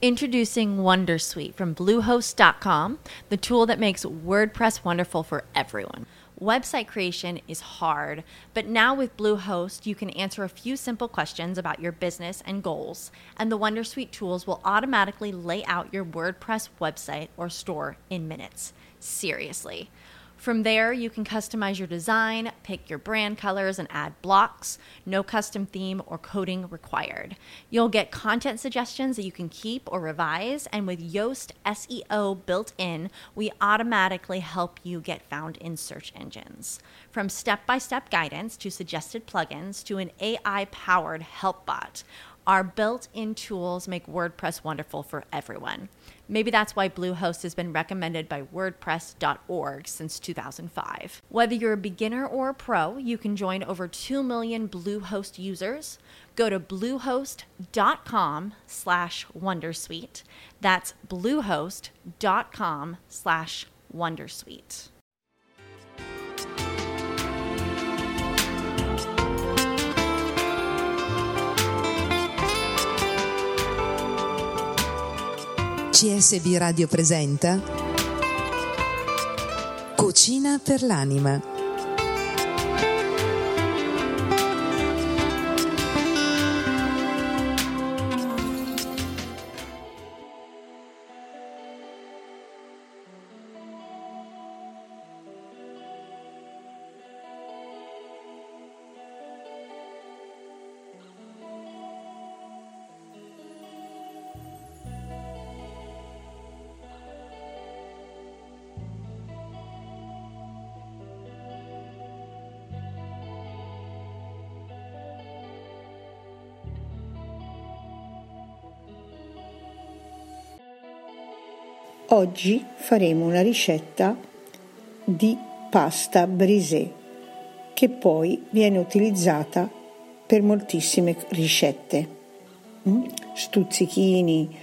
Introducing Wondersuite from Bluehost.com, the tool that makes WordPress wonderful for everyone. Website creation is hard, but now with Bluehost, you can answer a few simple questions about your business and goals, and the Wondersuite tools will automatically lay out your WordPress website or store in minutes. Seriously. From there, you can customize your design, pick your brand colors, and add blocks. No custom theme or coding required. You'll get content suggestions that you can keep or revise, and with Yoast SEO built in, we automatically help you get found in search engines. From step-by-step guidance to suggested plugins to an AI-powered help bot, our built-in tools make WordPress wonderful for everyone. Maybe that's why Bluehost has been recommended by WordPress.org since 2005. Whether you're a beginner or a pro, you can join over 2 million Bluehost users. Go to bluehost.com/wondersuite. That's bluehost.com/wondersuite. CSB Radio presenta Cucina per l'anima. Oggi faremo una ricetta di pasta brisée che poi viene utilizzata per moltissime ricette, stuzzichini,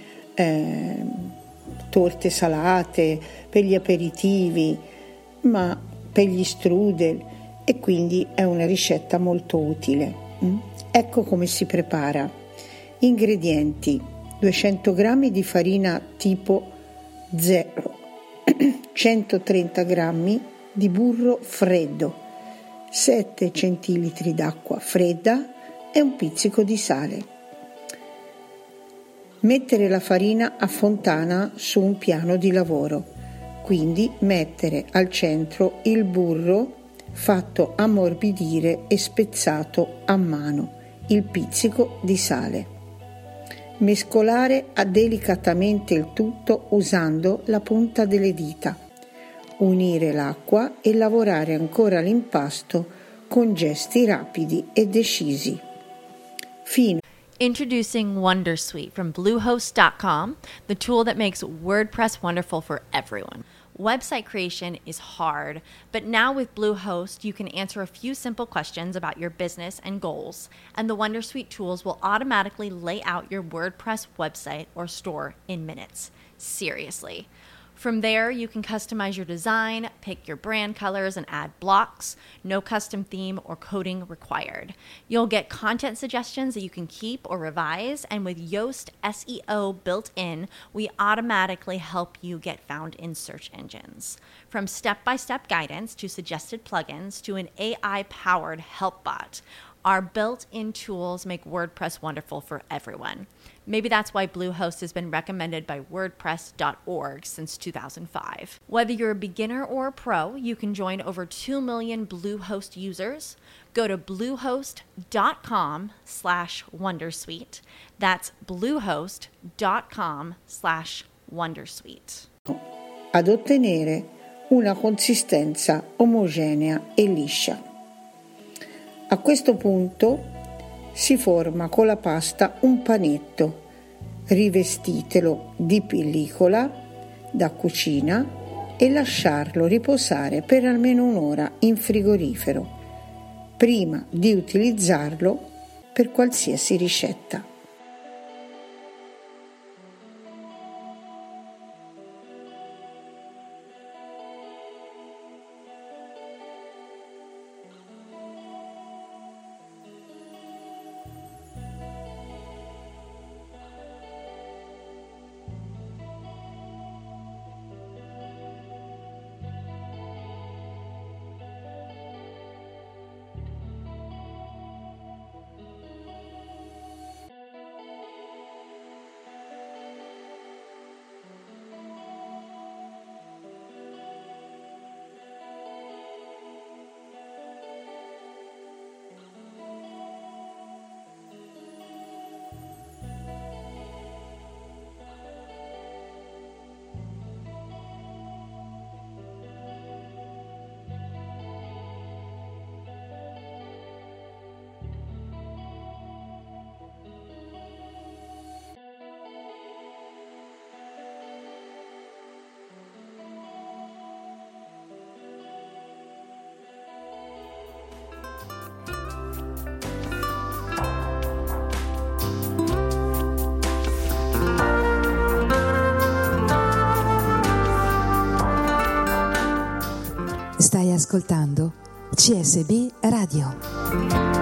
torte salate, per gli aperitivi, ma per gli strudel, e quindi è una ricetta molto utile. Ecco come si prepara. Ingredienti: 200 g di farina tipo 0, 130 g di burro freddo, 7 centilitri d'acqua fredda e un pizzico di sale. Mettere la farina a fontana su un piano di lavoro, quindi mettere al centro il burro fatto ammorbidire e spezzato a mano, il pizzico di sale. Mescolare delicatamente il tutto usando la punta delle dita. Unire l'acqua e lavorare ancora l'impasto con gesti rapidi e decisi. Introducing Wondersuite from Bluehost.com, the tool that makes WordPress wonderful for everyone. Website creation is hard, but now with Bluehost, you can answer a few simple questions about your business and goals, and the Wondersuite tools will automatically lay out your WordPress website or store in minutes. Seriously. From there, you can customize your design, pick your brand colors, and add blocks. No custom theme or coding required. You'll get content suggestions that you can keep or revise, and with Yoast SEO built in, we automatically help you get found in search engines. From step-by-step guidance to suggested plugins to an AI-powered help bot, our built-in tools make WordPress wonderful for everyone. Maybe that's why Bluehost has been recommended by WordPress.org since 2005. Whether you're a beginner or a pro, you can join over 2 million Bluehost users. Go to bluehost.com/wondersuite. That's bluehost.com/wondersuite. Ad ottenere una consistenza omogenea e liscia. A questo punto si forma con la pasta un panetto, rivestitelo di pellicola da cucina e lasciarlo riposare per almeno un'ora in frigorifero prima di utilizzarlo per qualsiasi ricetta. Stai ascoltando CSB Radio.